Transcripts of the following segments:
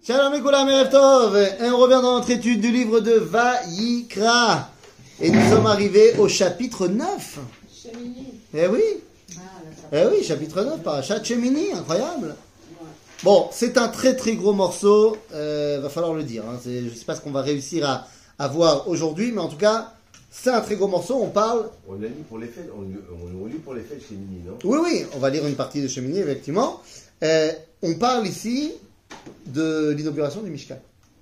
Shalom Mekulam Erev Tov, et on revient dans notre étude du livre de Vayikra. Et nous sommes arrivés au chapitre 9. Shemini. Eh oui, chapitre 9, Parashat Shemini, incroyable. Bon, c'est un très très gros morceau, va falloir le dire. Hein. Je ne sais pas ce qu'on va réussir à voir aujourd'hui, mais en tout cas, c'est un très gros morceau. On parle. On a lu pour les fêtes, on lit pour les fêtes Shemini, non? Oui, on va lire une partie de Shemini, effectivement. On parle ici de l'inauguration du Mishkan.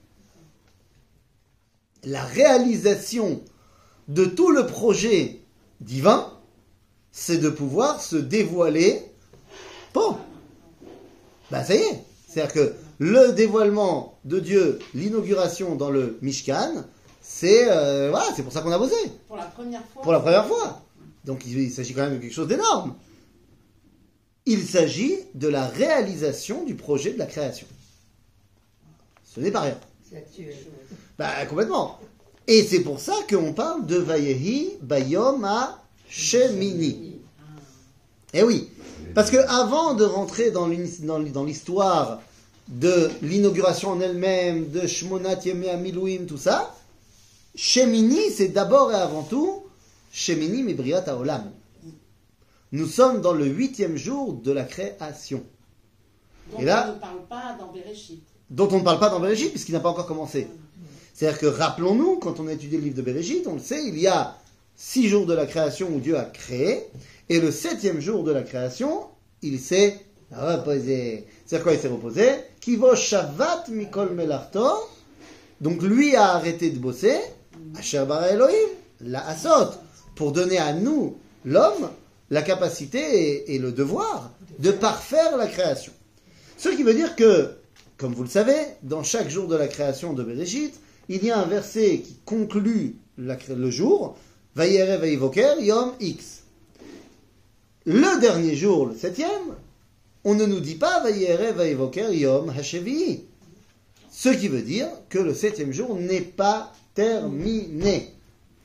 La réalisation de tout le projet divin, c'est de pouvoir se dévoiler. Bon, ben ça y est. C'est-à-dire que le dévoilement de Dieu, l'inauguration dans le Mishkan, c'est pour ça qu'on a bossé. Pour la première fois. Pour la première fois. Donc il s'agit quand même de quelque chose d'énorme. Il s'agit de la réalisation du projet de la création. Ce n'est pas rien. C'est actuel. Bah, complètement. Et c'est pour ça qu'on parle de Vayehi Bayom Shemini. Eh oui. Parce que avant de rentrer dans l'histoire de l'inauguration en elle-même, de Shmonat Yemei HaMiluim, tout ça, Shemini, c'est d'abord et avant tout Shemini Mibriat HaOlam. Nous sommes dans le 8e jour de la création. Donc Et là, on ne parle pas dans Bereshit. dont on ne parle pas dans Bereshit, puisqu'il n'a pas encore commencé. C'est-à-dire que, rappelons-nous, quand on a étudié le livre de Bereshit, on le sait, il y a 6 jours de la création où Dieu a créé, et le 7e jour de la création, il s'est reposé. C'est-à-dire quoi il s'est reposé? Kivo shavat mikol melarto. Donc lui a arrêté de bosser, Asher bara Elohim, la asot, pour donner à nous, l'homme, la capacité et le devoir de parfaire la création. Ce qui veut dire que, comme vous le savez, dans chaque jour de la création de Bereshit, il y a un verset qui conclut le jour, Vayere Vayivoker Yom X. Le dernier jour, le 7e, on ne nous dit pas Vayere Vayivoker Yom Hashevi. Ce qui veut dire que le 7e jour n'est pas terminé.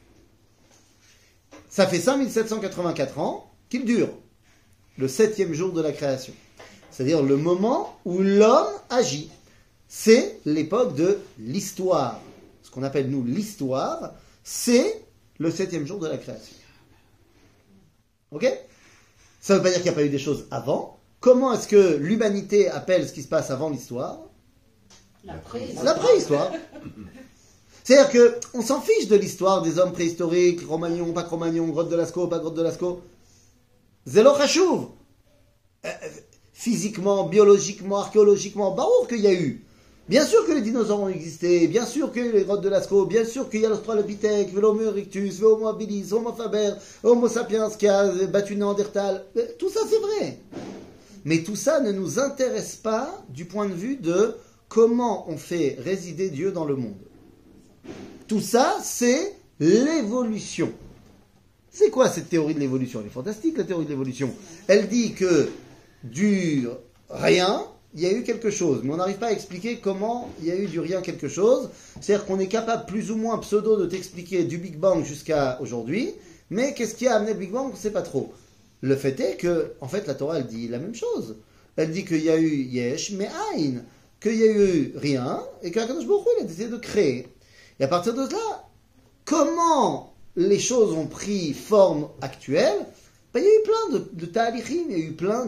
Ça fait 5784 ans qu'il dure, le 7e jour de la création. C'est-à-dire le moment où l'homme agit. C'est l'époque de l'histoire. Ce qu'on appelle, nous, l'histoire, c'est le 7e jour de la création. Ok? Ça ne veut pas dire qu'il n'y a pas eu des choses avant. Comment est-ce que l'humanité appelle ce qui se passe avant l'histoire? La préhistoire. La préhistoire. C'est-à-dire qu'on s'en fiche de l'histoire des hommes préhistoriques, Cro-Magnon, pas Cro-Magnon, grotte de Lascaux, pas grotte de Lascaux. Zélo Chachouv. Physiquement, biologiquement, archéologiquement, barour qu'il y a eu. Bien sûr que les dinosaures ont existé, bien sûr qu'il y a eu les grottes de Lascaux, bien sûr qu'il y a l'Australopithèque, l'Homo erectus, l'Homo habilis, Homo faber, Homo sapiens qui a battu Néandertal. Tout ça c'est vrai. Mais tout ça ne nous intéresse pas du point de vue de comment on fait résider Dieu dans le monde. Tout ça, c'est l'évolution. C'est quoi cette théorie de l'évolution? Elle est fantastique, la théorie de l'évolution. Elle dit que du rien, il y a eu quelque chose. Mais on n'arrive pas à expliquer comment il y a eu du rien quelque chose. C'est-à-dire qu'on est capable plus ou moins pseudo de t'expliquer du Big Bang jusqu'à aujourd'hui. Mais qu'est-ce qui a amené le Big Bang? On ne sait pas trop. Le fait est que, en fait, la Torah, elle dit la même chose. Elle dit qu'il y a eu Yesh, mais Aïn. Qu'il y a eu rien, et qu'Akadosh Baruch Hu, il a décidé de créer. Et à partir de là, comment les choses ont pris forme actuelle? Ben, il y a eu plein de ta'alichim, il y a eu plein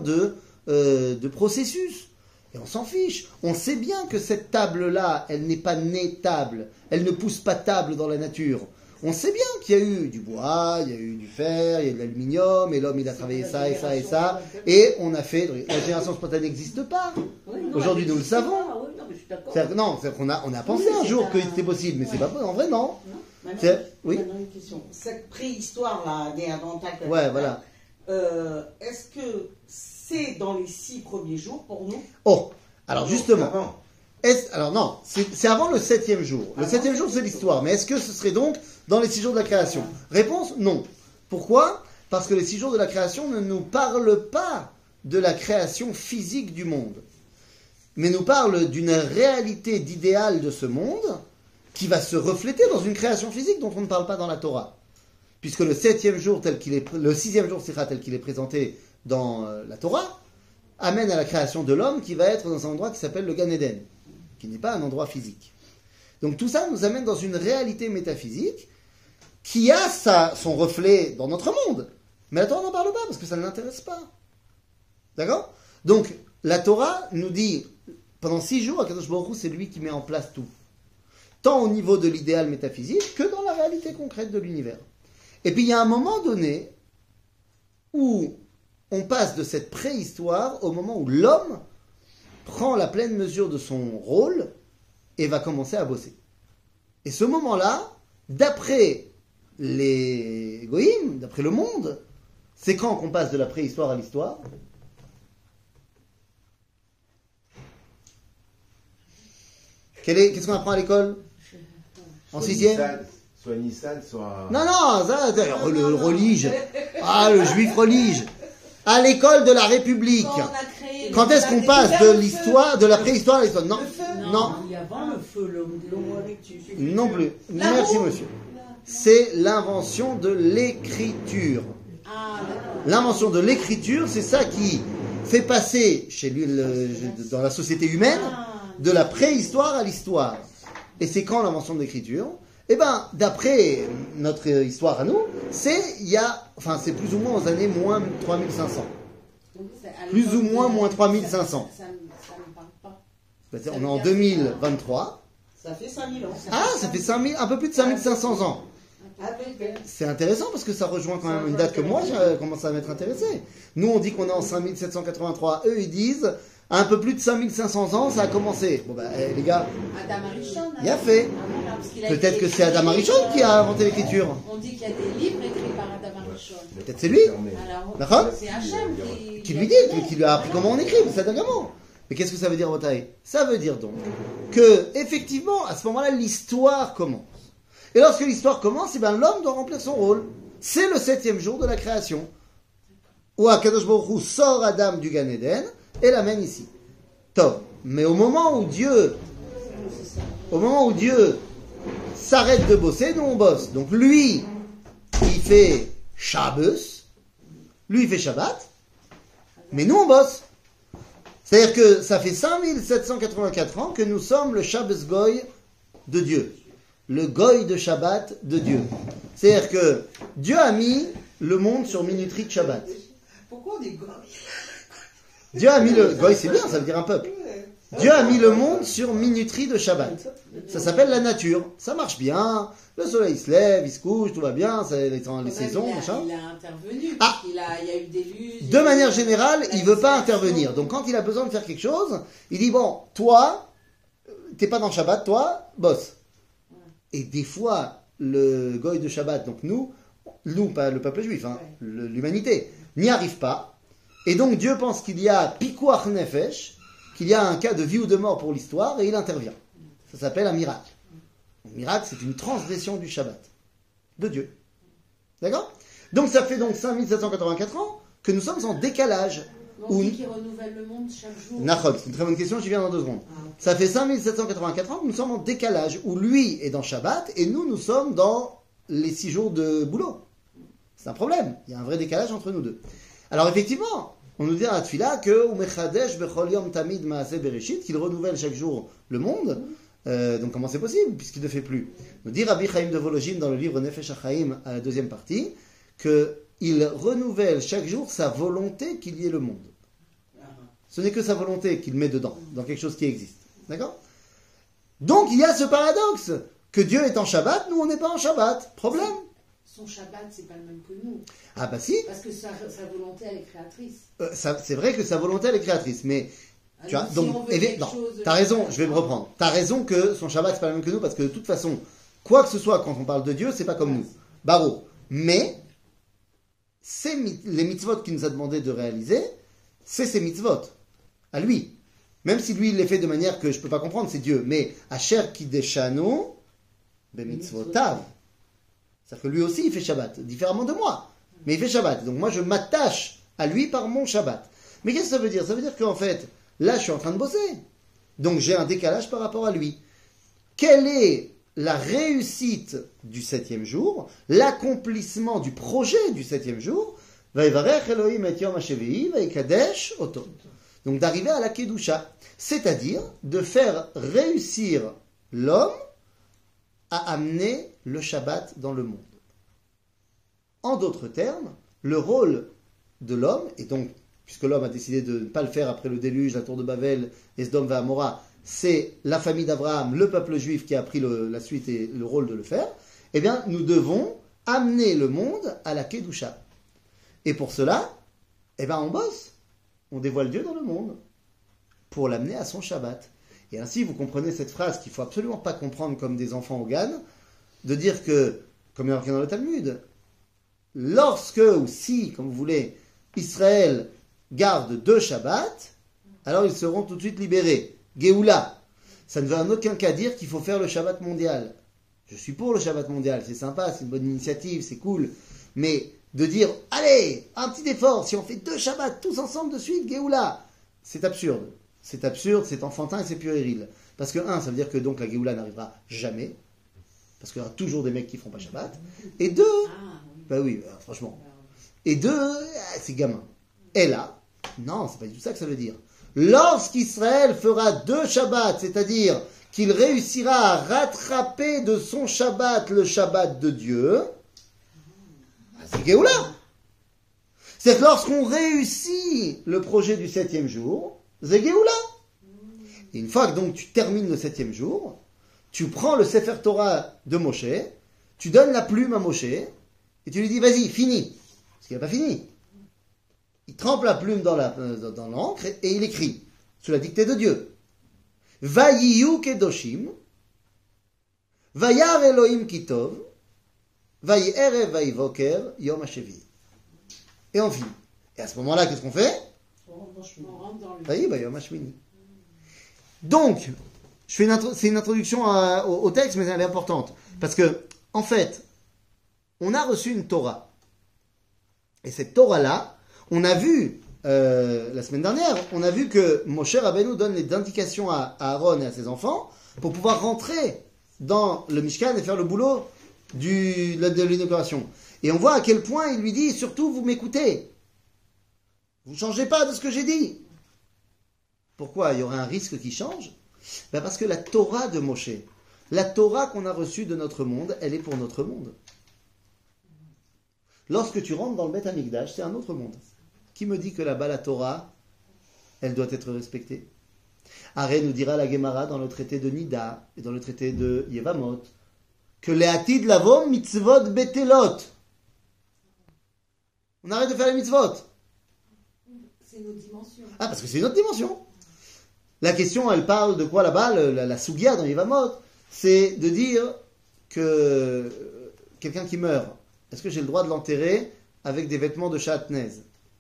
de processus. Et on s'en fiche. On sait bien que cette table-là, elle n'est pas née table. Elle ne pousse pas table dans la nature. On sait bien qu'il y a eu du bois, il y a eu du fer, il y a eu de l'aluminium, et l'homme il a travaillé ça et ça et ça. Et on a fait... La génération spontanée n'existe pas. Aujourd'hui, nous le savons. C'est-à-dire qu'on a pensé un jour que c'était possible, mais c'est pas possible. En vrai, non. Oui. Maintenant, une question. Cette préhistoire-là, Néandertal, Ouais, voilà. Est-ce que c'est dans les 6 premiers jours pour nous? Oh, alors justement. Alors non, c'est avant le 7e jour. Le 7e jour, c'est l'histoire. Mais est-ce que ce serait donc dans les 6 jours de la création? Réponse, non. Pourquoi? Parce que les 6 jours de la création ne nous parlent pas de la création physique du monde, mais nous parlent d'une réalité d'idéal de ce monde qui va se refléter dans une création physique dont on ne parle pas dans la Torah. Puisque le 7e jour, le 6e jour, tel qu'il est présenté dans la Torah, amène à la création de l'homme qui va être dans un endroit qui s'appelle le Gan Eden. qui n'est pas un endroit physique. Donc tout ça nous amène dans une réalité métaphysique qui a son reflet dans notre monde. Mais la Torah n'en parle pas parce que ça ne l'intéresse pas. D'accord? Donc la Torah nous dit, pendant 6 jours, Akadosh Baruch Hu, c'est lui qui met en place tout. Tant au niveau de l'idéal métaphysique que dans la réalité concrète de l'univers. Et puis il y a un moment donné où on passe de cette préhistoire au moment où l'homme prend la pleine mesure de son rôle et va commencer à bosser. Et ce moment-là, d'après les goïms, d'après le monde, c'est quand qu'on passe de la préhistoire à l'histoire. Qu'est-ce qu'on apprend à l'école? En 6e? Soit Nissan, soit... Non, ça, le relige. Ah, le juif relige. À l'école de la République. Quand est-ce qu'on passe de l'histoire, de la préhistoire à l'histoire? Non, non. Il y a avant le feu, l'homme Non plus. Merci, monsieur. C'est l'invention de l'écriture. L'invention de l'écriture, c'est ça qui fait passer chez lui, dans la société humaine, de la préhistoire à l'histoire. Et c'est quand l'invention de l'écriture? Eh bien, d'après notre histoire à nous, c'est plus ou moins aux années moins 3500. Plus ou moins moins 3500. Ça ne me parle pas. On est en 2023. Ça fait 5000 ans. Ah, ça fait un peu plus de 5500 ans. C'est intéressant parce que ça rejoint quand même une date que moi j'ai commencé à m'être intéressé. Nous on dit qu'on est en 5783, eux ils disent un peu plus de 5500 ans ça a commencé. Bon les gars, Adam Arishon. Il a fait. Peut-être que c'est Adam Arishon qui a inventé l'écriture. On dit qu'il y a des livres écrits par Adam Arishon. Peut-être c'est lui. Alors, D'accord? c'est Hachem Qui lui dit, qui lui a appris comment on écrit, c'est Adagamo. Mais qu'est-ce que ça veut dire, Botaï? Ça veut dire donc que, effectivement, à ce moment-là, l'histoire commence. Et lorsque l'histoire commence, l'homme doit remplir son rôle. C'est le 7e jour de la création. Où Akadosh Baruch Hu sort Adam du Gan Eden et l'amène ici. Top. Mais au moment où Dieu s'arrête de bosser, nous on bosse. Donc lui, il fait Shabbos, lui il fait Shabbat, mais nous on bosse. C'est-à-dire que ça fait 5784 ans que nous sommes le Shabbos Goy de Dieu. Le Goy de Shabbat de Dieu. C'est-à-dire que Dieu a mis le monde sur minuterie de Shabbat. Pourquoi on dit Goy? Dieu a mis le... Goy c'est bien, ça veut dire un peuple. Dieu a mis le monde sur minuterie de Shabbat. Ça s'appelle la nature. Ça marche bien. Le soleil se lève, il se couche, tout va bien. C'est les saisons, machin. Il a intervenu. Ah. Il y a eu des luttes. De manière générale, il veut pas intervenir. Donc quand il a besoin de faire quelque chose, il dit bon, toi, t'es pas dans Shabbat, toi, bosse. Et des fois, le goy de Shabbat, donc nous, pas le peuple juif, l'humanité, n'y arrive pas. Et donc Dieu pense qu'il y a pikuach nefesh, qu'il y a un cas de vie ou de mort pour l'histoire, et il intervient. Ça s'appelle un miracle. Un miracle, c'est une transgression du Shabbat, de Dieu. D'accord? Donc ça fait donc 5784 ans que nous sommes en décalage. On dit qu'il renouvelle le monde chaque jour. Nachod, c'est une très bonne question, j'y viens dans 2 secondes. Ça fait 5784 ans que nous sommes en décalage, où lui est dans Shabbat, et nous sommes dans les 6 jours de boulot. C'est un problème, il y a un vrai décalage entre nous deux. Alors effectivement, on nous dit à la Tfila que qu'il renouvelle chaque jour le monde. Donc comment c'est possible puisqu'il ne fait plus? Nous dit Rabbi Chaim de Volojin dans le livre Nefesh HaChaim à la 2e partie qu'il renouvelle chaque jour sa volonté qu'il y ait le monde. Ce n'est que sa volonté qu'il met dedans, dans quelque chose qui existe. D'accord? Donc il y a ce paradoxe que Dieu est en Shabbat, nous on n'est pas en Shabbat. Problème? Son Shabbat, c'est pas le même que nous. Ah bah si. Parce que sa volonté, elle est créatrice. C'est vrai que sa volonté, elle est créatrice, mais... Tu vois, si donc, on veut quelque chose, t'as raison, je vais me reprendre. T'as raison que son Shabbat, c'est pas le même que nous, parce que de toute façon, quoi que ce soit, quand on parle de Dieu, c'est pas comme nous. Baro. Mais, les mitzvot qu'il nous a demandé de réaliser, c'est ces mitzvot. À lui. Même si lui, il les fait de manière que je peux pas comprendre, c'est Dieu. Mais, Asher Kideshanu, be mitzvotav. C'est-à-dire que lui aussi, il fait Shabbat, différemment de moi. Mais il fait Shabbat. Donc moi, je m'attache à lui par mon Shabbat. Mais qu'est-ce que ça veut dire? Ça veut dire qu'en fait, là, je suis en train de bosser. Donc j'ai un décalage par rapport à lui. Quelle est la réussite du 7e jour, l'accomplissement du projet du 7e jour? Vaïvarech Elohim et Yom HaShevi'i vaïkadesh oto. Donc d'arriver à la Kedusha, c'est-à-dire de faire réussir l'homme à amener le Shabbat dans le monde. En d'autres termes, le rôle de l'homme, et donc, puisque l'homme a décidé de ne pas le faire après le déluge, la tour de Babel, Esdom et Amora, c'est la famille d'Abraham, le peuple juif qui a pris la suite et le rôle de le faire, eh bien, nous devons amener le monde à la Kedusha. Et pour cela, eh bien, on bosse. On dévoile Dieu dans le monde pour l'amener à son Shabbat. Et ainsi, vous comprenez cette phrase qu'il ne faut absolument pas comprendre comme des enfants au GAN, de dire que, comme il y a marqué dans le Talmud, lorsque, ou si, comme vous voulez, Israël garde 2 Shabbats, alors ils seront tout de suite libérés. Géoula. Ça ne veut en aucun cas dire qu'il faut faire le Shabbat mondial. Je suis pour le Shabbat mondial, c'est sympa, c'est une bonne initiative, c'est cool. Mais de dire, allez, un petit effort, si on fait 2 Shabbats tous ensemble de suite, Géoula, c'est absurde. C'est absurde, c'est enfantin et c'est puéril. Parce que, ça veut dire que donc la Géoula n'arrivera jamais. Parce qu'il y aura toujours des mecs qui ne feront pas Shabbat. Et 2, bah oui, franchement. Et 2, c'est gamin. Et là, non, c'est pas du tout ça que ça veut dire. Lorsqu'Israël fera 2 Shabbats, c'est-à-dire qu'il réussira à rattraper de son Shabbat le Shabbat de Dieu, c'est Géoula. C'est que lorsqu'on réussit le projet du 7e jour, c'est Géoula. Et une fois que donc tu termines le 7e jour, tu prends le Sefer Torah de Moshe, tu donnes la plume à Moshe, et tu lui dis, vas-y, finis. Parce qu'il n'a pas fini. Il trempe la plume dans l'encre et il écrit, sous la dictée de Dieu. Vayiyu kedoshim, vayar Elohim kitov, vayi erev vayi voker, yom hashevi. Et on finit. Et à ce moment-là, qu'est-ce qu'on fait? On rentre dans le... Vayi yom hashmini. Donc, c'est une introduction au texte, mais elle est importante. Parce que, en fait, on a reçu une Torah. Et cette Torah-là, on a vu, la semaine dernière, on a vu que Moshe Rabbeinu donne les indications à Aaron et à ses enfants pour pouvoir rentrer dans le Mishkan et faire le boulot de l'inauguration. Et on voit à quel point il lui dit, surtout vous m'écoutez. Vous ne changez pas de ce que j'ai dit. Pourquoi? Il y aurait un risque qui change? Ben parce que la Torah de Moshe, la Torah qu'on a reçue de notre monde, elle est pour notre monde. Lorsque tu rentres dans le Beth Amikdash, c'est un autre monde. Qui me dit que là-bas, la Torah, elle doit être respectée? Aré nous dira la Gemara dans le traité de Nida et dans le traité de Yevamot que les Atid Lavo mitzvot betelot. On arrête de faire les mitzvot. C'est une autre dimension. Ah, parce que c'est une autre dimension. La question, elle parle de quoi là-bas? La Sugia dans Yevamot, c'est de dire que quelqu'un qui meurt, est-ce que j'ai le droit de l'enterrer avec des vêtements de Shatnez?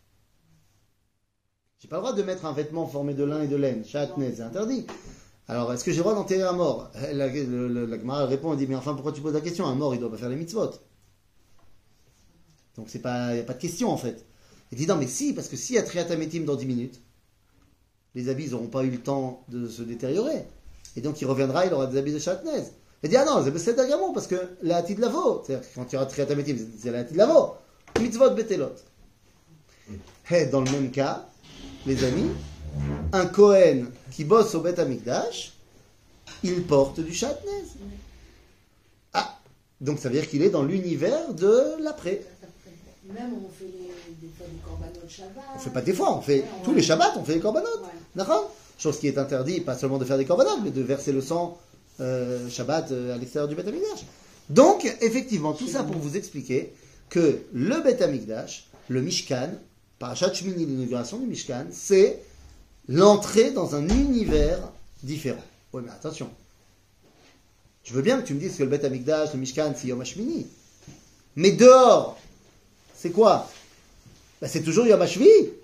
J'ai pas le droit de mettre un vêtement formé de lin et de laine. Shatnez, c'est interdit. Alors, est-ce que j'ai le droit d'enterrer un mort? La Gemara répond, elle dit, mais enfin, pourquoi tu poses la question? Un mort, il doit pas faire les mitzvot. Donc, il n'y a pas de question, en fait. Il dit, non, mais si, parce que si il y a Triat Hametim dans 10 minutes, les habits n'auront pas eu le temps de se détériorer. Et donc, il reviendra, il aura des habits de Shatnez. Il dit, ah non, c'est d'Agamon, parce que la Hatid Lavo, c'est-à-dire quand il y aura Triat Hametim, c'est la Hatid Lavo. Mitzvot betelot. Et dans le même cas, les amis, un Kohen qui bosse au Beth Amikdash, il porte du Shatnez. Ah, donc ça veut dire qu'il est dans l'univers de l'après. Même on fait des fois des korbanot Shabbat. On fait pas des fois, on fait tous les Shabbats, on fait des korbanot. Ouais. D'accord? Chose qui est interdite, pas seulement de faire des korbanot, mais de verser le sang Shabbat à l'extérieur du Beth Amikdash. Donc, effectivement, tout ça pour vous expliquer que le Beth Amikdash, le Mishkan, Parashat Shmini, l'inauguration du Mishkan, c'est l'entrée dans un univers différent. Oui, mais attention. Je veux bien que tu me dises que le Beth Amikdash, le Mishkan, c'est Yom HaShmini. Mais dehors, c'est quoi? Ben, c'est toujours Yom HaShvi.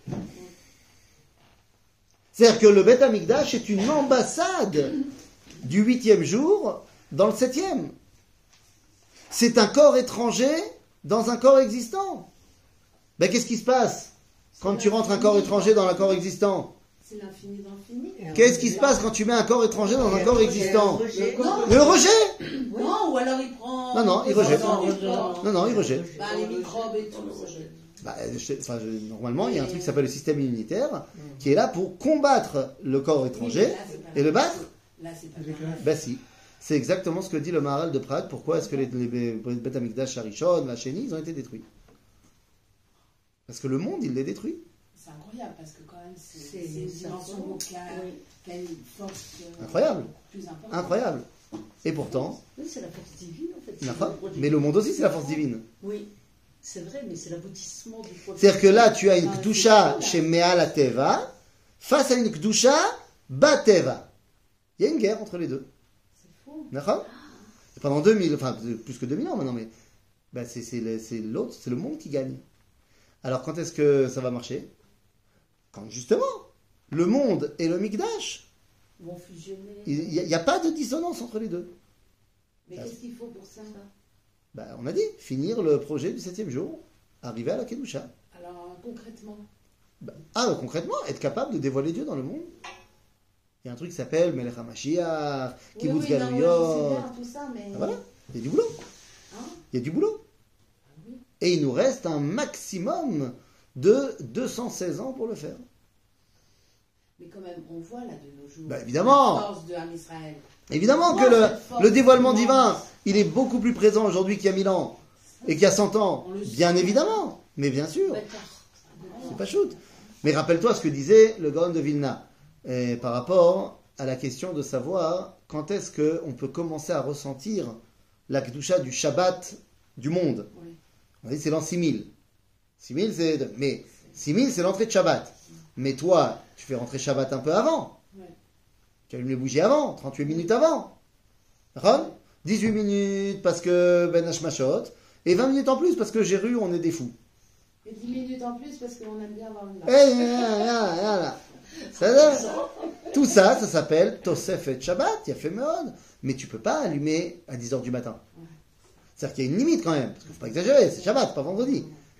C'est-à-dire que le Beth Amikdash est une ambassade du 8e jour dans le 7e. C'est un corps étranger dans un corps existant. Ben, qu'est-ce qui se passe quand tu rentres un corps étranger dans un corps existant? C'est l'infini d'infini. Qu'est-ce qui se passe quand tu mets un corps étranger dans un corps existant? Non, Le rejet? non, ou alors il prend... Non, il rejette. Non, Non, il rejette. bah, les microbes et tout. Normalement, il y a un truc qui s'appelle le système immunitaire qui est là pour combattre le corps étranger et le battre. Là, c'est pas pareil. Ben si. C'est exactement ce que dit le Maharal de Prague. Pourquoi est-ce que les Beth Amikdash, Harishon, la Chéni, ils ont été détruits? Parce que le monde, il les détruit. C'est incroyable parce que quand même, c'est C'est une une dimension dimension. vocale, Oui. qui a une force Incroyable. plus importante. Incroyable. Et pourtant, Oui, c'est la force divine en fait. mais le monde aussi, c'est la force divine. Oui, c'est vrai, mais c'est l'aboutissement du projet. C'est-à-dire que là, tu as une Ah, Kdusha c'est chez Me'al Teva face à une Kdusha Bateva. Il y a une guerre entre les deux. C'est fou. D'accord? Et pendant 2000, enfin plus que 2000 ans maintenant, mais ben, c'est l'autre, c'est le monde qui gagne. Alors quand est-ce que ça va marcher? Quand justement, le monde et le Mikdash, Vont fusionner. il n'y a pas de dissonance entre les deux. Mais qu'est-ce qu'il faut pour ça? Ben, on a dit, finir le projet du 7e jour, arriver à la Kedusha. Alors, concrètement, Concrètement, être capable de dévoiler Dieu dans le monde. Il y a un truc qui s'appelle Melech HaMashiach, Kibbutz oui, non, Galuyot. moi, je sais bien tout ça, mais... Voilà, il y a du boulot. Hein? Il y a du boulot. Oui. Et il nous reste un maximum de 216 ans pour le faire. Mais quand même, on voit là de nos jours Bah, évidemment. la force de Ham Israël. Évidemment On que voit cette force le dévoilement immense. divin, il est beaucoup plus présent aujourd'hui qu'il y a 1000 ans et qu'il y a 100 ans. On le Bien sait. évidemment, mais bien sûr, D'accord. c'est pas shoot. Mais rappelle-toi ce que disait le Gaon de Vilna par rapport à la question de savoir quand est-ce qu'on peut commencer à ressentir la Kedusha du Shabbat du monde. Oui. On dit c'est l'an 6000. 6000 c'est... Mais 6000 c'est l'entrée de Shabbat. Mais toi, tu fais rentrer Shabbat un peu avant. Ouais. Tu allumes les bougies avant, 38 minutes avant. D'accord? 18 minutes parce que Ben Hashmashot, et 20 minutes en plus parce que j'ai ru, on est des fous. Et 10 minutes en plus parce qu'on aime bien avoir une Là. Tout ça, ça s'appelle Tosefet Shabbat, il y a fait Meod. Mais tu peux pas allumer à 10h du matin. C'est-à-dire qu'il y a une limite quand même, parce qu'il ne faut pas exagérer, c'est Shabbat, pas vendredi.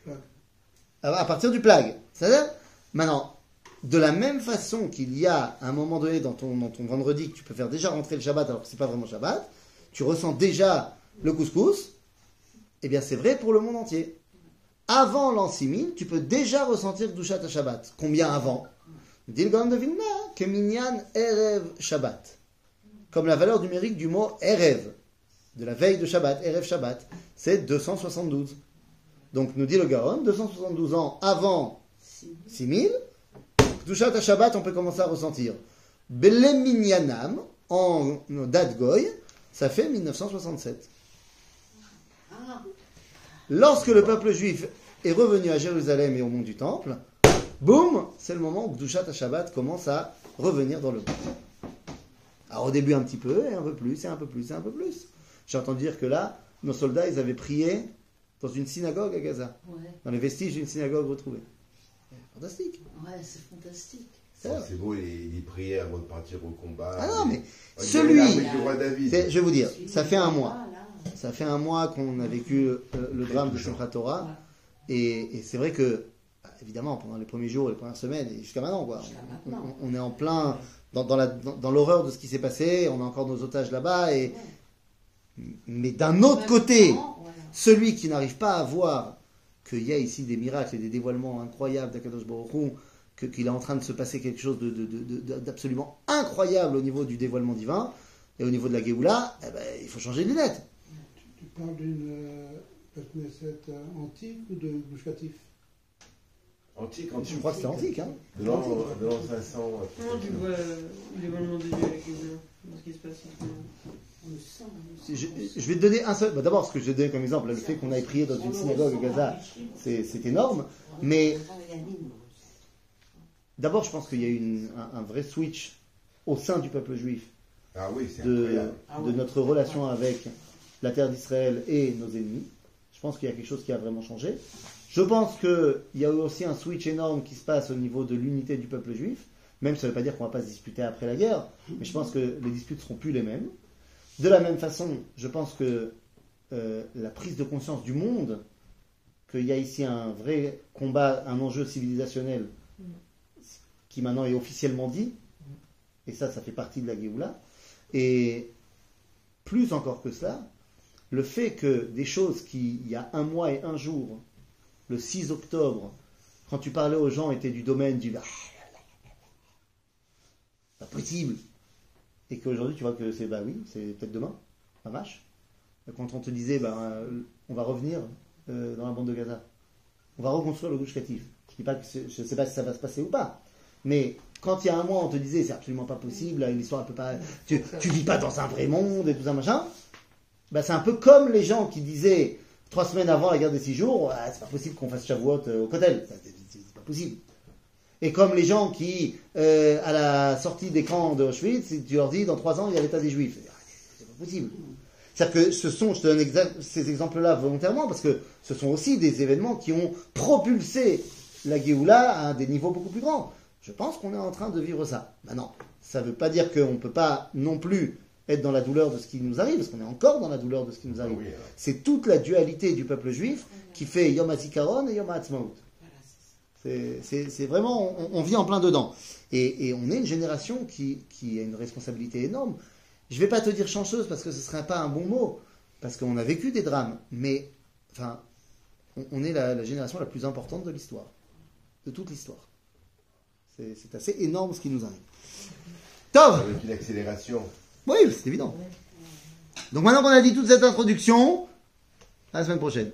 À partir du plag. C'est-à-dire, maintenant, de la même façon qu'il y a un moment donné dans ton vendredi que tu peux faire déjà rentrer le Shabbat alors que c'est pas vraiment Shabbat, tu ressens déjà le couscous, eh bien c'est vrai pour le monde entier. Avant l'an 6000, tu peux déjà ressentir Gdushat à Shabbat. Combien avant? Dit le Gaon de Vilna, que Minyan Erev Shabbat. Comme la valeur numérique du mot Erev, de la veille de Shabbat, Erev Shabbat, c'est 272. Donc nous dit le Gaon, 272 ans avant 6000, Gdushat à Shabbat, on peut commencer à ressentir. Bele Minyanam, en date Goy, ça fait 1967. Ah, Lorsque le peuple juif est revenu à Jérusalem et au mont du Temple, boum, c'est le moment où Gdushat Shabbat commence à revenir dans le monde. Alors au début un petit peu, et un peu plus, et un peu plus, et un peu plus. J'ai entendu dire que là, nos soldats, ils avaient prié dans une synagogue à Gaza, Ouais, dans les vestiges d'une synagogue retrouvée. Fantastique. ouais, c'est fantastique. C'est beau les prières avant de partir au combat. Ah non, mais On dirait celui, l'armée du roi David. je vais vous dire, ça fait un mois. ah, là. Ça fait un mois qu'on a vécu le drame de Simchat Torah. Et c'est vrai que, évidemment, pendant les premiers jours, les premières semaines, et jusqu'à maintenant, quoi, Jusqu'à maintenant. on est en plein dans l'horreur de ce qui s'est passé. On a encore nos otages là-bas. Mais d'un autre Même côté, temps, voilà. celui qui n'arrive pas à voir qu'il y a ici des miracles et des dévoilements incroyables d'Akadosh Baruch Hu, qu'il est en train de se passer quelque chose d'absolument incroyable au niveau du dévoilement divin et au niveau de la Géoula, eh ben, il faut changer de lunettes. Tu parles d'une Knesset antique ou de Gouchatif? Antique. Je crois que c'est antique. Hein. De l'an 500. Comment tu vois l'événement de Dieu avec ce qui se passe en ce moment? On le sent, on le sent. Je vais te donner un seul. D'abord, ce que je vais te donner comme exemple, le fait qu'on aille prier dans une synagogue à Gaza, c'est énorme. Mais d'abord, je pense qu'il y a eu un vrai switch au sein du peuple juif Ah oui, c'est de incroyable. notre relation avec la terre d'Israël et nos ennemis. Je pense qu'il y a quelque chose qui a vraiment changé. Je pense qu'il y a eu aussi un switch énorme qui se passe au niveau de l'unité du peuple juif, même si ça ne veut pas dire qu'on ne va pas se disputer après la guerre, mais je pense que les disputes ne seront plus les mêmes. De la même façon, je pense que la prise de conscience du monde, qu'il y a ici un vrai combat, un enjeu civilisationnel qui maintenant est officiellement dit, et ça fait partie de la Géoula, et plus encore que cela, le fait que des choses qui, il y a un mois et un jour, le 6 octobre, quand tu parlais aux gens, était du domaine du pas possible, et qu'aujourd'hui tu vois que c'est oui, c'est peut-être demain, la vache. Quand on te disait on va revenir dans la bande de Gaza, on va reconstruire le Gush Katif. Je ne sais pas si ça va se passer ou pas, mais quand il y a un mois on te disait c'est absolument pas possible, l'histoire elle peut pas, tu vis pas dans un vrai monde et tout ça machin. C'est un peu comme les gens qui disaient 3 semaines avant la guerre des 6 jours, c'est pas possible qu'on fasse Shavuot au Kotel, c'est pas possible. Et comme les gens qui, à la sortie des camps de Auschwitz, tu leur dis dans 3 ans il y a l'état des Juifs, c'est pas possible. C'est-à-dire que je te donne ces exemples-là volontairement parce que ce sont aussi des événements qui ont propulsé la Géoula à des niveaux beaucoup plus grands. Je pense qu'on est en train de vivre ça. Maintenant, ça ne veut pas dire qu'on ne peut pas non plus être dans la douleur de ce qui nous arrive, parce qu'on est encore dans la douleur de ce qui nous arrive. Oui, c'est toute la dualité du peuple juif qui fait Yom HaZikaron et Yom HaAtzmaut. C'est vraiment, on vit en plein dedans. Et on est une génération qui a une responsabilité énorme. Je ne vais pas te dire chanceuse parce que ce ne serait pas un bon mot, parce qu'on a vécu des drames, mais enfin, on est la génération la plus importante de l'histoire, de toute l'histoire. C'est assez énorme ce qui nous arrive. Tov! Avec une accélération. Oui, c'est évident. Donc maintenant qu'on a dit toute cette introduction, à la semaine prochaine.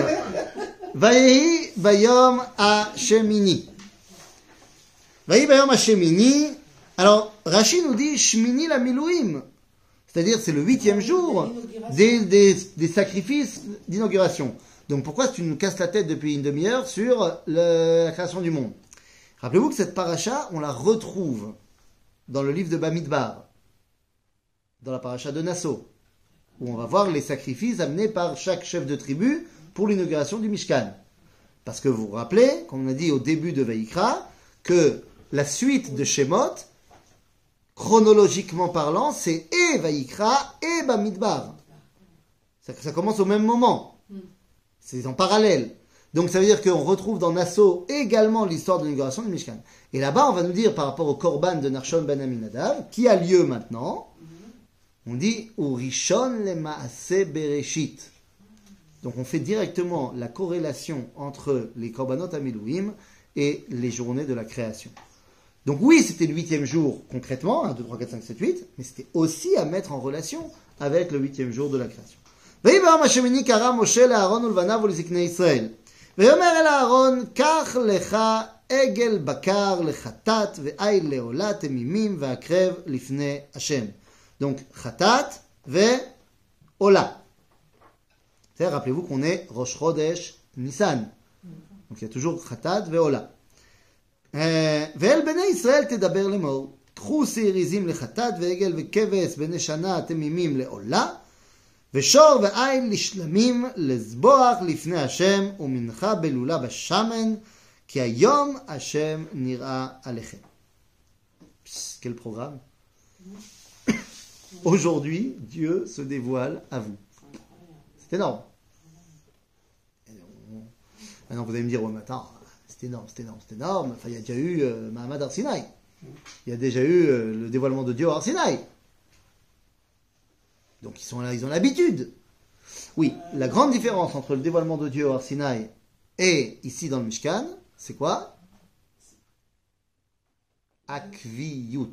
Vayehi Bayom Hashemini. Vayehi Bayom Hashemini. Alors, Rashi nous dit Shmini la Milouim. C'est-à-dire, c'est le 8e jour des sacrifices d'inauguration. Donc, pourquoi tu nous casses la tête depuis une demi-heure sur la création du monde? Rappelez-vous que cette paracha, on la retrouve dans le livre de Bamidbar, dans la paracha de Nassau, où on va voir les sacrifices amenés par chaque chef de tribu pour l'inauguration du Mishkan. Parce que vous vous rappelez, comme on a dit au début de Vaïkra, que la suite de Shemot, chronologiquement parlant, c'est et Vaïkra et Bamidbar. Ça commence au même moment. C'est en parallèle. Donc ça veut dire qu'on retrouve dans Nassau également l'histoire de l'inauguration du Mishkan. Et là-bas, on va nous dire par rapport au Korban de Nachshon ben Aminadav, qui a lieu maintenant, on dit Urishon le Maaseh Bereshit. Donc on fait directement la corrélation entre les Korbanot Amilouim et les journées de la création. Donc oui, c'était le 8e jour concrètement, 1, 2, 3, 4, 5, 7, 8, mais c'était aussi à mettre en relation avec le 8e jour de la création. ויבם השמיני קרא משה לאהרון ולבניו ולזקני ישראל. ויאמר אל אהרון, קח לך עגל בקר לחטאת ועיל לעולה תמימים והקרב לפני השם. Donc חטאת ועולה. Rappelez-vous qu'on est Rosh Chodesh Nissan. Donc il y a toujours חטאת ועולה. ואל בני ישראל תדבר לאמור, קחו שעירים לחטאת ועגל וכבש בני שנה תמימים לעולה, ושור ועיל לשלמים לזבוח לפני השם ומנחה בלולה בשמן, כי היום השם נראה עליכם. Quel programme. Aujourd'hui, Dieu se dévoile à vous. C'est énorme. Maintenant, vous allez me dire, ouais, mais attends, c'est énorme. Enfin, il y a déjà eu Mahamad Har Sinaï. Il y a déjà eu le dévoilement de Dieu à Har Sinaï. Donc ils sont là, ils ont l'habitude. Oui, la grande différence entre le dévoilement de Dieu au Har Sinaï et ici dans le Mishkan, c'est quoi? Akviyut.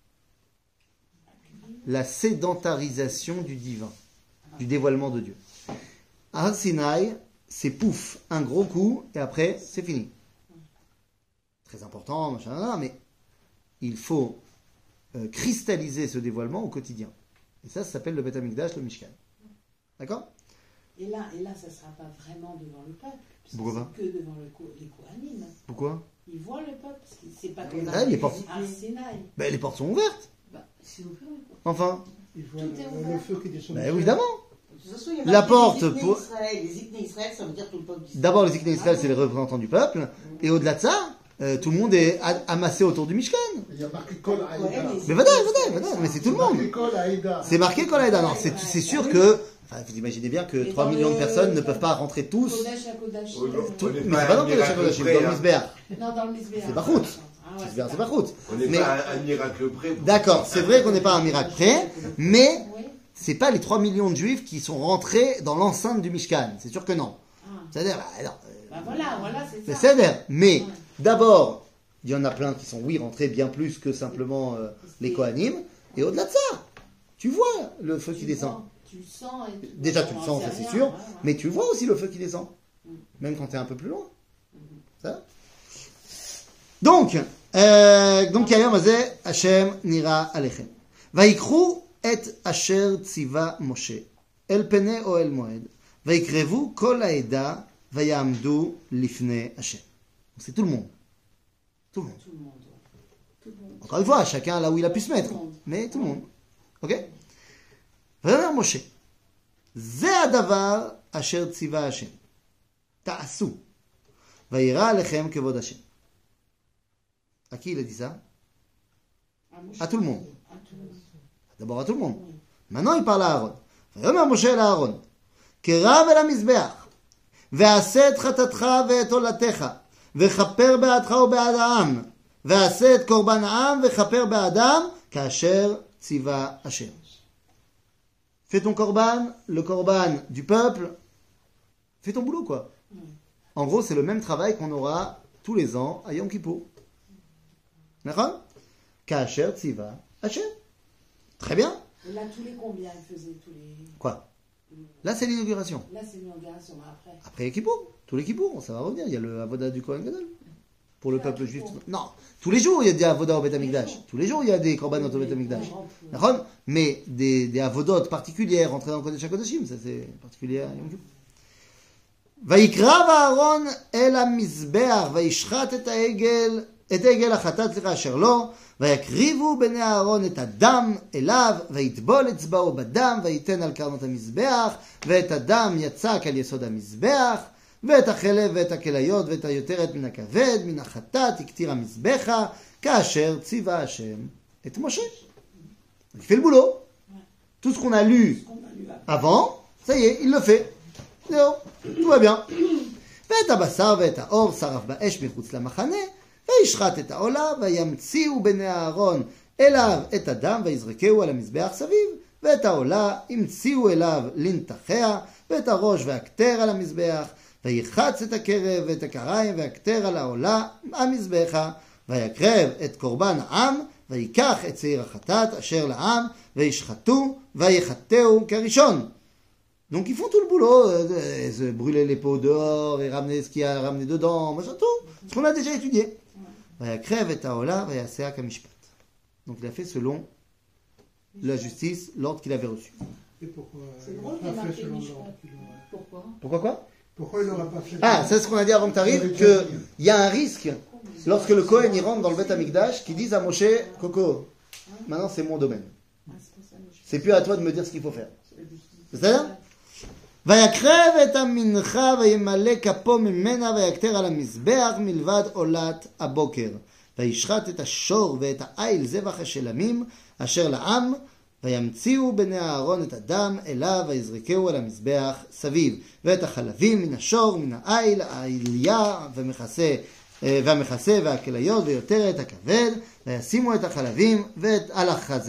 La sédentarisation du divin, du dévoilement de Dieu. À Har Sinaï, c'est pouf, un gros coup, et après, c'est fini. Très important, machin, mais il faut cristalliser ce dévoilement au quotidien. Et ça s'appelle le Beth Amikdash, le Mishkan. D'accord? Et là, ça ne sera pas vraiment devant le peuple. Pourquoi c'est que devant les Kohanim. Pourquoi? Ils voient le peuple, parce que c'est pas comme Ah, les portes. à Sinaï. Ben, les portes sont ouvertes. C'est ouvert, les portes. Enfin. Il voit Tout est le ouvert. feu qui descend. Ben, évidemment. De toute façon, il y a La marqué porte les Zikné pour- Israël. Les Zikné Israël, ça veut dire tout le peuple d'Israël. D'abord, les Zikné Israël, c'est les représentants du peuple. Et au-delà de ça, tout le monde est amassé autour du Mishkan. Il y a marqué Kol Aïda. Mais voilà, mais c'est tout le monde. marqué Kol Aïda. C'est marqué Kol Haïda. Alors, c'est sûr que, enfin, vous imaginez bien que Et 3 dans millions de le- personnes ne peuvent pas rentrer tous. Kodesh à Kodesh. Tout- On n'est mais pas c'est pas dans un le Kodesh miracle HaKodashim, près, dans le hein. Misbéach. Non, dans le Misbéach. C'est Bachout. Ah ouais, C'est Bachout. On n'est Mais- pas un miracle près. D'accord, c'est vrai qu'on n'est pas un miracle près, mais Oui. c'est pas les 3 millions de juifs qui sont rentrés dans l'enceinte du Mishkan. C'est sûr que non. Ah. C'est-à-dire, non, Bah voilà, c'est ça. C'est céder. Mais d'abord, il y en a plein qui sont, oui, rentrés bien plus que simplement les Kohanim. Et au-delà de ça, tu vois le feu qui descend. Tu le sens. Et Déjà, tu le sens, ça c'est sûr. Mais tu vois aussi le feu qui descend. Même quand tu es un peu plus loin. Ça donc, Kayom Azeh, Hashem Nira Alechem. Vaikru et Asher Tziva Moshe. El Pene Oel Moed. Vaikrevu Kol Haeda. Vayamdu Lifne Hashem. C'est tout le monde. Tout le monde. Tout le monde. Encore une fois, chacun là où il a pu se mettre. Mais tout le monde. Ok? Vayomer Moshe. Ze hadavar asher tziva Hashem. Ta'asu. Vayira alechem kevod Hashem. À qui il a dit ça? À tout le monde. D'abord à tout le monde. Maintenant il parle à Aaron. Vayomer Moshe el Aaron. Kerav el hamizbeach. ועשה את חטאתך ואת עולתך, וכפר בעדך ובעד העם, ועשה את קורבן העם, וכפר בעדם, כאשר ציווה השם. Fais ton korban, le korban du peuple, fais ton boulot quoi. En gros, c'est le même travail qu'on aura tous les ans à Yom Kippour. D'accord? Kasher tsiva Hashem. Très bien. Et là, tous les combien il faisait tous les... Quoi? Là, c'est l'inauguration. Là, c'est l'inauguration, après. Après Kippour, tous les Kippour, ça va revenir. Il y a le Avoda du Kohen Gadol. Pour le peuple juif. Non, tous les jours il y a des Avodot au Beth Amikdash. Tous les jours il y a des Korbanot au Beth Amikdash. D'accord? Mais des Avodot particulières entrées dans le Kodesh HaKodeshim, ça c'est particulier à Yom Kippour. ויקרב אהרון אל המזבח וישחט את העגל החטאת אשר לו ויקריבו בני אהרון את הדם אליו ויטבול אצבעו בדם וייתן על קרנות המזבח ואת הדם יצק על יסוד המזבח ואת החלב ואת הכליות ואת היותרת מן הכבד מן החטאת יקטיר המזבחה כאשר ציווה השם את משה. Il fait le boulot. Tout ce qu'on a lu avant, ça y est, il le fait. זהו, tout va bien. ואת הבשר ואת האור שרף באש מחוץ למחנה, וישחט את העולה, וימציאו בני אהרון אליו את הדם, ויזרקהו על המזבח סביב, ואת העולה המציאו אליו לנתחיה, ואת הראש והכתר על המזבח, ויחץ את הקרב ואת הקריים והכתר על העולה המזבחה, ויקרב את קורבן העם, ויקח את שעיר החטאת אשר לעם, וישחטו, ויחטאו כראשון. Donc ils font tout le boulot, brûler les pots dehors et ramener ce qu'il y a à ramener dedans, machin, tout, ce qu'on a déjà étudié. Vayakrev et Taola, Vayasea Kamishpat. Donc il a fait selon la justice, l'ordre qu'il avait reçu. Et pourquoi C'est drôle il n'a qu'il pas a fait marqué selon Mishpat. l'ordre qu'il aurait? Pourquoi? Pourquoi quoi? Pourquoi il n'aura pas fait Ah, c'est ce qu'on a dit avant que tu arrives, qu'il y a un risque, lorsque le Kohen y rentre dans le Beth Amikdash, qu'il dise à Moshe, Coco, maintenant c'est mon domaine. C'est plus à toi de me dire ce qu'il faut faire. C'est ça? ויקרב את המנחה וימלא כפו ממנה ויקטר על המזבח מלבד עולת הבוקר וישחט את השור ואת העיל זבח השלמים אשר לעם וימציאו בני אהרון את הדם אליו ויזרקהו על המזבח סביב ואת החלבים מן השור מן העיל העיליה והמכסה והכליות ויותרת הכבד וישימו את החלבים על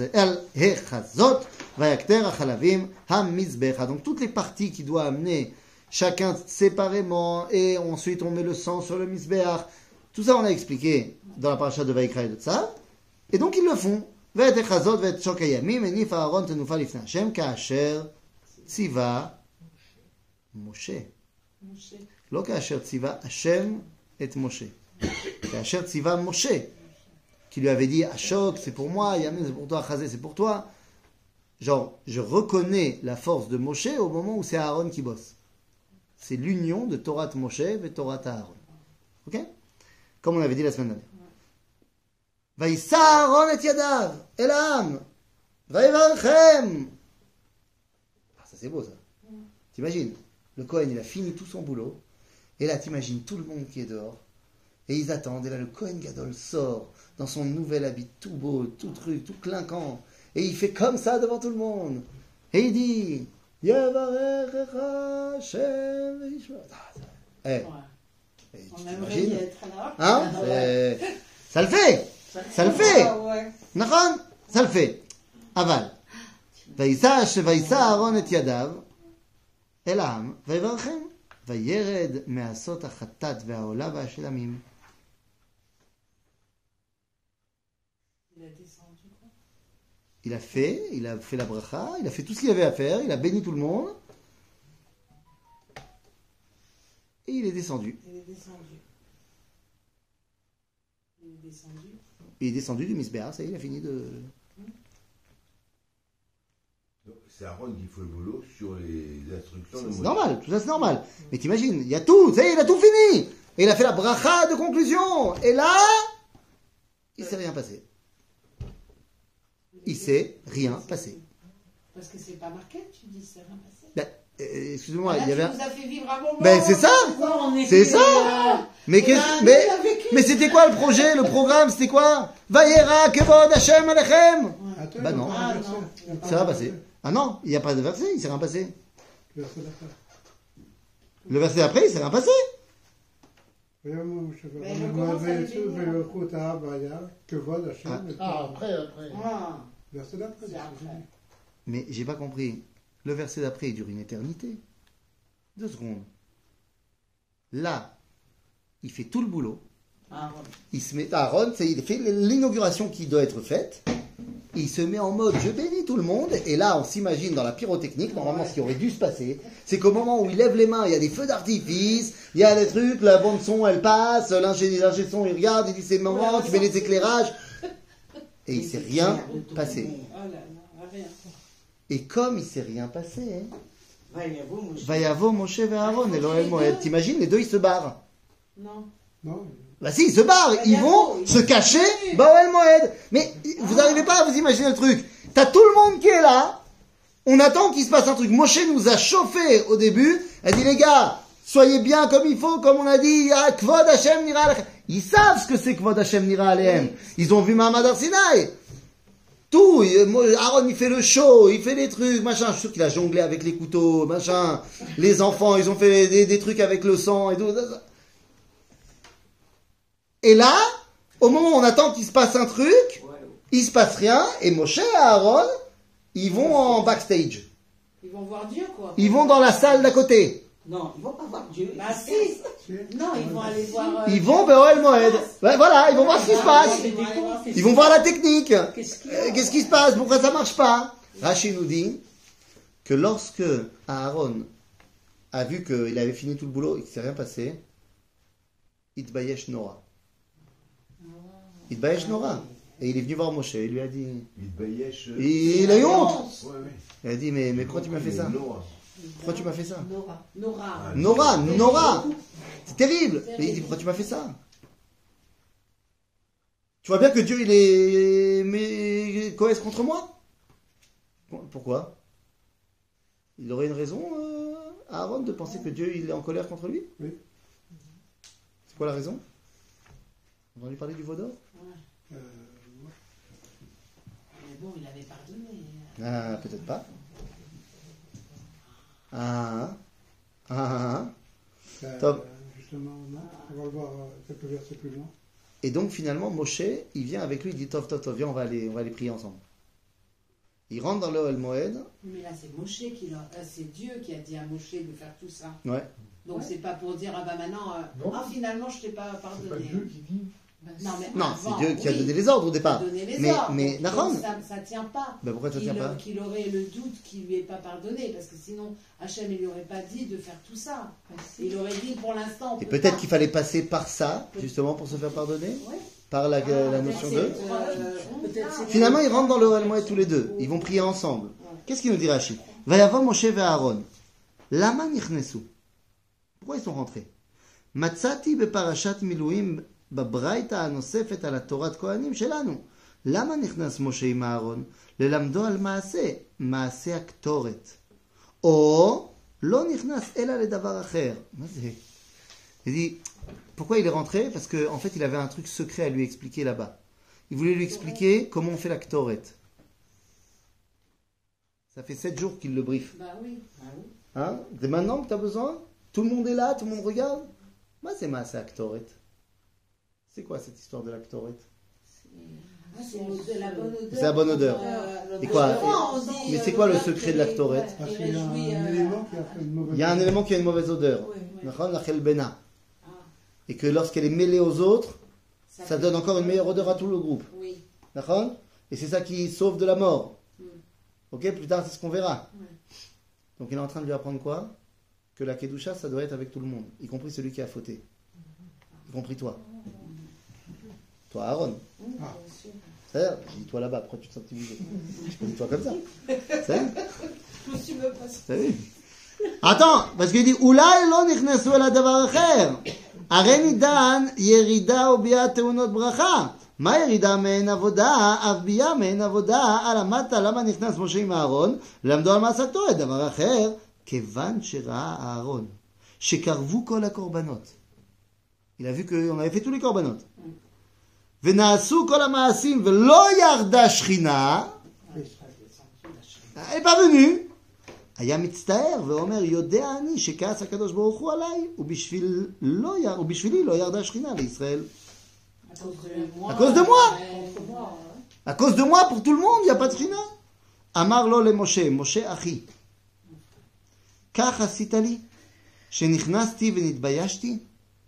החזות ויקטר החלבים המזבחה. Donc toutes les parties qu'il doit amener chacun séparément et ensuite on met le sang sur le mizbeach. Tout ça on a expliqué dans la paracha de Vayikra et de ça. Et donc ils le font. ואת החזות ואת שוק הימים הניף אהרון תנופה לפני השם כאשר ציווה משה. לא כאשר ציווה השם את משה. כאשר ציווה משה. Qui lui avait dit Ashok c'est pour moi, Yamin c'est pour toi, Chazé c'est pour toi. Genre, je reconnais la force de Moshe au moment où c'est Aaron qui bosse. C'est l'union de Torah Moshe et Torah Aaron. Ok? Comme on avait dit la semaine dernière. Vaïssa Aaron et Yadav, Elam, Vaïvarchem. Ah, ça c'est beau ça. T'imagines, le Kohen il a fini tout son boulot, et là t'imagines tout le monde qui est dehors, et ils attendent, et là le Kohen Gadol sort dans son nouvel habit tout beau, tout truc, tout clinquant. Et il fait comme ça devant tout le monde. Et il dit Yavarechecha Hashem v'yishma. On aimerait y être là. Hein? Ça le fait. Ça le fait. Nachon? Ça le fait. Aval. Vaïssa Aaron et Yadav El Ham Vaïvarchem. Vayered me'asot ha'chatat ve'ha'ola ve'ha'shelamim. Il a descendu quoi? Il a fait la bracha, il a fait tout ce qu'il avait à faire, il a béni tout le monde. Et il est descendu. Il est descendu. Il est descendu. Il est descendu du Misbéa, ça y est, il a fini de... C'est Aaron qui fait le boulot sur les instructions de C'est Moïse. normal, tout ça c'est normal. Mais t'imagines, il y a tout, ça y est, il a tout fini. Et il a fait la bracha de conclusion. Et là, il s'est rien passé. Il s'est rien passé. Parce que c'est pas marqué, tu dis, c'est rien passé. Ben, excusez-moi, Là, il y avait... tu nous as fait vivre un moment. Ben c'est ça. C'est ça. Mais qu'est-ce... Mais c'était quoi le projet, le programme, c'était quoi? Vayera kevod Hashem alechem. Attends, Bah il y a non. pas Ah, de verset. non. Il y a pas Ça va de passer. verset. Ah non, il n'y a pas de verset, il s'est rien passé. Verset d'après. Le verset après, il s'est rien passé. Mais je commence à le bénir. Après. Ah, Verset d'après. c'est après. Mais j'ai pas compris. Le verset d'après, il dure une éternité. 2 secondes. Là, il fait tout le boulot. Aaron. Il se met, Aaron, il fait l'inauguration qui doit être faite. Il se met en mode je bénis tout le monde. Et là, on s'imagine dans la pyrotechnique, normalement, ce qui aurait dû se passer, c'est qu'au moment où il lève les mains, il y a des feux d'artifice, il y a des trucs, la bande son, elle passe, l'ingé son, il regarde, il dit c'est le moment, tu mets les éclairages. Et il s'est rien passé. Oh là là, rien. Et comme il s'est rien passé, Vayavo, Vayavo Moshe. Moshe et Aaron et l'Oel Moed. T'imagines, les deux, ils se barrent. Non. Non, Bah si, ils se barrent, ils vont se cacher Baoel Moed. Mais vous n'arrivez pas à vous imaginer le truc. T'as tout le monde qui est là, on attend qu'il se passe un truc. Moshe nous a chauffé au début, elle dit les gars, soyez bien comme il faut, comme on a dit, ah, Kvod Hashem Nira Alechem. Ils savent ce que c'est Kvod Hashem Nira Alechem. Ils ont vu Mahamad Har Sinai. Tout, Aaron il fait le show, il fait des trucs, machin, je suis sûr qu'il a jonglé avec les couteaux, machin. Les enfants, ils ont fait des trucs avec le sang et tout. Et là, au moment où on attend qu'il se passe un truc, il se passe rien, et Moshe et Aaron, ils vont en backstage. Ils vont voir Dieu, quoi. Ils vont dans la salle d'à côté. Non, ils vont pas voir Dieu. Bah si. Non, ils vont aller voir... Ils vont vers Oel Moed. Ouais, voilà, ils vont voir ce qui se passe. Ils vont voir la technique. Qu'est-ce qui se passe? Pourquoi ça marche pas? Rachid nous dit que lorsque Aaron a vu qu'il avait fini tout le boulot et qu'il ne s'est rien passé, Itbayesh Nora. Itbayesh Nora. Et il est venu voir Moshe, il lui a dit... Mitbayesh. Il a eu honte. Ouais, ouais. Il a dit, mais pourquoi tu m'as fait ça? Noah. Pourquoi tu m'as fait ça? Nora. Nora. C'est terrible. Mais il dit, pourquoi tu m'as fait ça? Tu vois bien que Dieu, il est... Mais cohèse contre moi? Pourquoi? Il aurait une raison, Aaron, de penser que Dieu, il est en colère contre lui? Oui. C'est quoi la raison? On a entendu parler du veau d'or? Mais bon, il avait pardonné. Ah, peut-être pas. Top. Justement, non. On va le voir quelques versets plus loin. Et donc finalement, Moshe, il vient avec lui, il dit Tov, viens, on va aller prier ensemble. Il rentre dans le Oel Moed. Mais là, c'est Moshe c'est Dieu qui a dit à Moshe de faire tout ça. Ouais. Donc c'est pas pour dire, ah bah maintenant, finalement, je t'ai pas pardonné. qui dit. Non, mais Non, avant, c'est Dieu qui a oui, donné les ordres au il a départ. donné les Mais- ordres. mais Donc, Nahon. ça tient pas. Ben pourquoi ça tient pas? Qu'il aurait le doute qu'il lui ait pas pardonné, parce que sinon Hachem il lui aurait pas dit de faire tout ça. Il aurait dit pour l'instant. on Et peut peut-être pas. qu'il fallait passer par ça, justement, pour se faire pardonner, Ouais. par la Ah, notion peut-être de... c'est, Peut-être c'est- Finalement, ils rentrent dans le Oel Moed tous les deux. Ils vont prier ensemble. Qu'est-ce qu'il nous dit Rashi? Vayavo Moshe et Aaron. Lama nichnesu. Pourquoi ils sont rentrés? Matzati beparashat miluim בברייתא הנוספת על התורת כהנים שלנו. למה נכנס משה עם אהרון? ללמדו על מעשה הקטורת. או לא נכנס אלא לדבר אחר. מה זה? Il dit, pourquoi il est rentré? Parce qu'en fait, il avait un truc secret à lui expliquer là-bas. Il voulait lui expliquer comment on fait la Ktoret. Ça fait 7 jours qu'il le briefe. Bah oui. Hein? C'est maintenant que tu as besoin? Tout le monde est là, tout le monde regarde? Moi, c'est ma Ktoret. C'est quoi cette histoire de la Ktoret? Ah, c'est la bonne odeur. C'est la bonne odeur. Et quoi Mais c'est quoi le secret de la Ktoret? Parce qu'il y a un élément qui a fait une mauvaise Il y a un élément qui a une mauvaise odeur. D'accord, la chelbena. Et que lorsqu'elle est mêlée aux autres, ça donne encore une meilleure odeur à tout le groupe. Oui. D'accord? Et c'est ça qui sauve de la mort. Ok, plus tard, c'est ce qu'on verra. Donc il est en train de lui apprendre quoi? Que la Kedusha, ça doit être avec tout le monde, y compris celui qui a fauté. Y compris toi. Toi, Aaron. C'est-à-dire, j'ai dit toi là-bas, pourquoi tu te sens timidé? Je peux dire toi comme ça. C'est Je me suis même pas T'as vu? Attends, parce qu'il dit Oulai lo nichnesu el hadavar acher. הרי נידן ירידה וביאה תאונות ברכה. מה ירידה מעין עבודה? אף ביאה מעין עבודה. למדת למה נכנס משה עם אהרון? למדו על מעשה קטורת. דבר אחר, כיוון שראה אהרון שקרבו כל הקורבנות. Il a vu qu'on avait fait tous les corbanotes. ונעשו כל המעשים ולא ירדה שכינה. Elle n'est pas venue. היה מצטער ואומר, יודע אני שכעס הקדוש ברוך הוא עליי, ובשבילי לא ירדה שכינה לישראל. À cause de moi. À cause de moi, pour tout le monde, il n'y a pas de שכינה. אמר לו למשה, משה אחי, כך עשית לי, שנכנסתי ונתביישתי.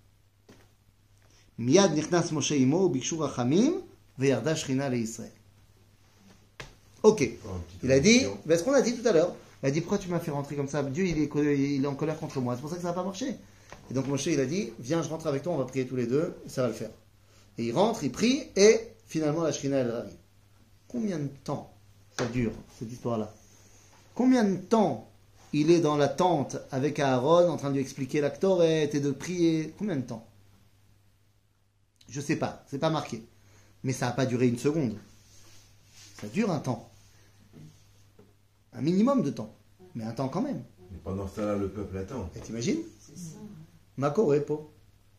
מיד נכנס משה עמו וביקשו רחמים, וירדה שכינה לישראל. Ok. Il a dit, ce qu'on a dit tout à l'heure, il a dit, pourquoi tu m'as fait rentrer comme ça? Dieu, il est en colère contre moi. C'est pour ça que ça n'a pas marché. Et donc Moshe, il a dit, viens, je rentre avec toi, on va prier tous les deux, et ça va le faire. Et il rentre, il prie, et finalement la Shrina, elle arrive. Combien de temps ça dure, cette histoire-là? Combien de temps il est dans la tente avec Aaron, en train de lui expliquer la Ktoret et de prier? Combien de temps? Je sais pas, c'est pas marqué. Mais ça n'a pas duré une seconde. Ça dure un temps. Un minimum de temps. Mais un temps quand même. Mais pendant ce temps-là, le peuple attend. Et t'imagines? C'est ça. Mako Repo.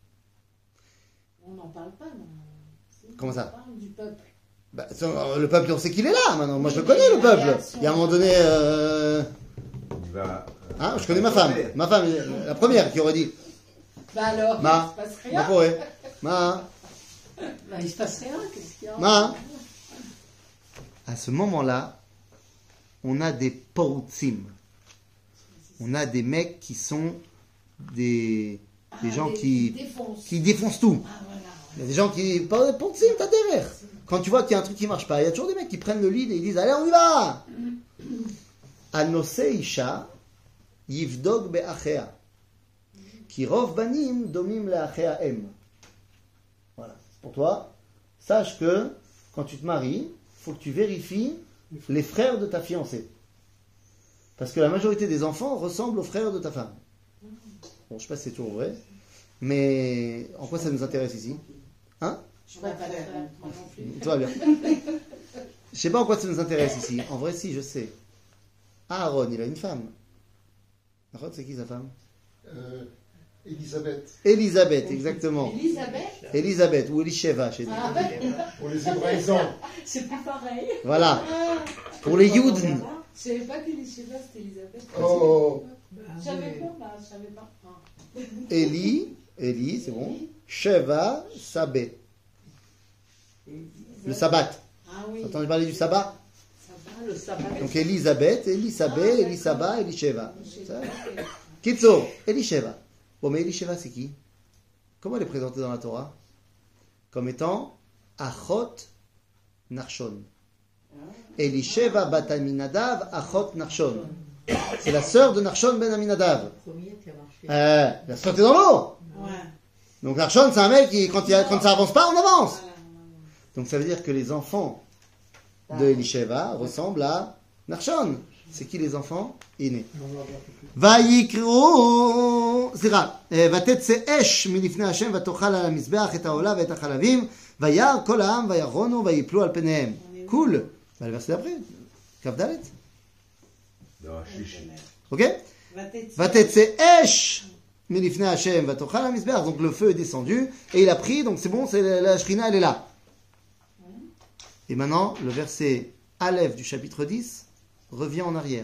On n'en parle pas, non. Comment ça? On parle du peuple. Bah, le peuple, on sait qu'il est là maintenant. Moi, je le connais, le peuple. Il y a un moment donné... Il va. Hein, je connais ma femme. Ma femme, la première qui aurait dit... Bah alors, Ma. il se passe rien. Mako Re. Ma. Bah, il se passe rien, qu'est-ce qu'il y a? Ma. À ce moment-là, on a des porutzim. On a des mecs qui sont des gens qui défoncent tout. Ah, voilà. Il y a des gens qui... Porutzim, t'as derrière. Quand tu vois qu'il y a un truc qui marche pas, il y a toujours des mecs qui prennent le lead et ils disent, allez, on y va. Anose isha yivdog be'achea. Ki rov banim domim le'achea em. Voilà. Pour toi, sache que quand tu te maries, il faut que tu vérifies les frères de ta fiancée. Parce que la majorité des enfants ressemblent aux frères de ta femme. Bon, je ne sais pas si c'est toujours vrai, mais en quoi ça nous intéresse ici? Hein? Je ne vais pas le faire, moi non plus. Tout va bien. Je sais pas en quoi ça nous intéresse ici. En vrai, si, je sais. Aaron, il a une femme. Aaron, c'est qui sa femme? Elisabeth. Elisabeth, exactement. Elisabeth? Elisabeth ou Elisheva chez nous. Ah, ouais. Pour les hébraïsants. C'est pas pareil. Voilà. Pour les Youden. Je savais pas qu'Elisabeth c'était Elisabeth. Oh. Je savais pas, là, je savais pas. Ah. Eli, c'est bon. Sheva, Sabé. Le sabbat. Ah oui. T'as entendu parler du sabbat? Ça va, le sabbat. Donc Elisabeth, Elisabé, Elisaba, Elisheva. Kitso, Elisheva. Bon, mais Elisheva, c'est qui? Comment elle est présentée dans la Torah? Comme étant Achot Narshon. Elisheva bat Aminadav, Achot Narshon. C'est la sœur de Narshon ben Aminadav. La sauté dans l'eau. Ouais. Donc Narshon, c'est un mec qui, quand ça avance pas, on avance. Donc ça veut dire que les enfants de Elisheva ressemblent à Narshon. C'est qui les enfants? Iné. ויקראו, סליחה, ותצא אש מלפני השם ותאכל על המזבח את העולה ואת החלבים וירא כל העם וירונו ויפלו על פניהם. קול. ועל verset d'après, כ"ד. Ok? ותצא אש מלפני השם ותאכל על המזבח. Donc le feu est descendu et il a pris, donc c'est bon, c'est la Shrina, elle est là. Et maintenant, le verset Aleph du chapitre 10 revient en arrière.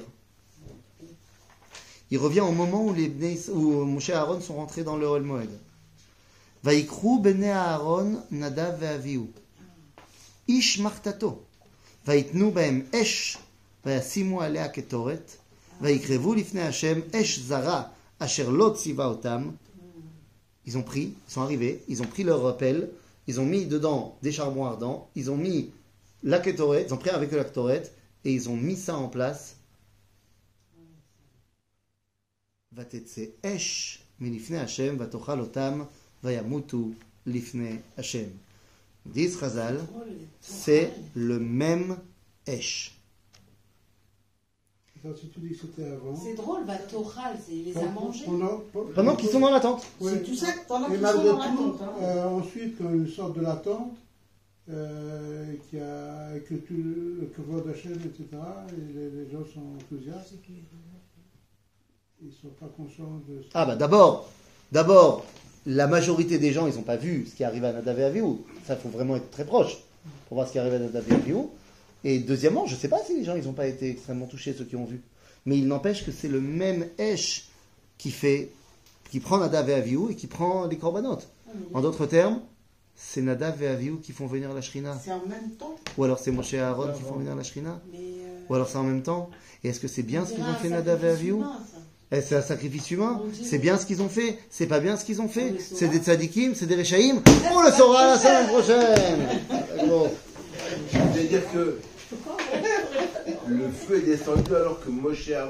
Il revient au moment où Moshe et Aaron sont rentrés dans le Ohel Moed. Vaikru bnei Aaron Nadav ve'Avihu. איש מחתתו. ויתנו בהם אש, וישימו עליה קטורת, ויקרבו לפני השם אש זרה, אשר לא ציווה אותם. Ils ont pris, ils sont arrivés, ils ont pris leur rappel, ils ont mis dedans des charbons ardents, ils ont mis la kétoret, ils ont pris avec eux la kétoret, et ils ont mis ça en place. ותצא אש מלפני השם, ותאכל אותם, וימותו לפני השם. Disent Chazal, c'est le même אש. Si tu dis que c'était avant. C'est drôle, Vatochal, il les a mangés. Pendant qu'ils sont dans la tente. Oui. C'est tout ça pendant Et qu'ils sont malgré dans la tout, tente. Hein. ensuite, quand ils sortent de la tente, que tout le kavod Hashem, etc., et les gens sont enthousiastes, ils ne sont pas conscients de ça. Ah bah d'abord, la majorité des gens, ils n'ont pas vu ce qui arrive à Nadav et Avihu. Ça, il faut vraiment être très proche pour voir ce qui arrive à Nadav et Avihu. Et deuxièmement, je ne sais pas si les gens ils n'ont pas été extrêmement touchés, ceux qui ont vu. Mais il n'empêche que c'est le même Esh qui prend Nadav et Avihu et qui prend les korbanot. En d'autres termes, c'est Nadav et Avihu qui font venir la Shrina. C'est en même temps. Ou alors c'est Moshe et Aaron qui font venir la Shrina. Ou alors c'est en même temps. Et est-ce que c'est bien ce qu'ils ont fait Nadav et Avihu? C'est un sacrifice humain. C'est bien ce qu'ils ont fait. C'est pas bien ce qu'ils ont fait. C'est des tzadikim, c'est des rechaïm. On le saura la semaine prochaine. Bon. C'est-à-dire que le feu est descendu alors que Moshe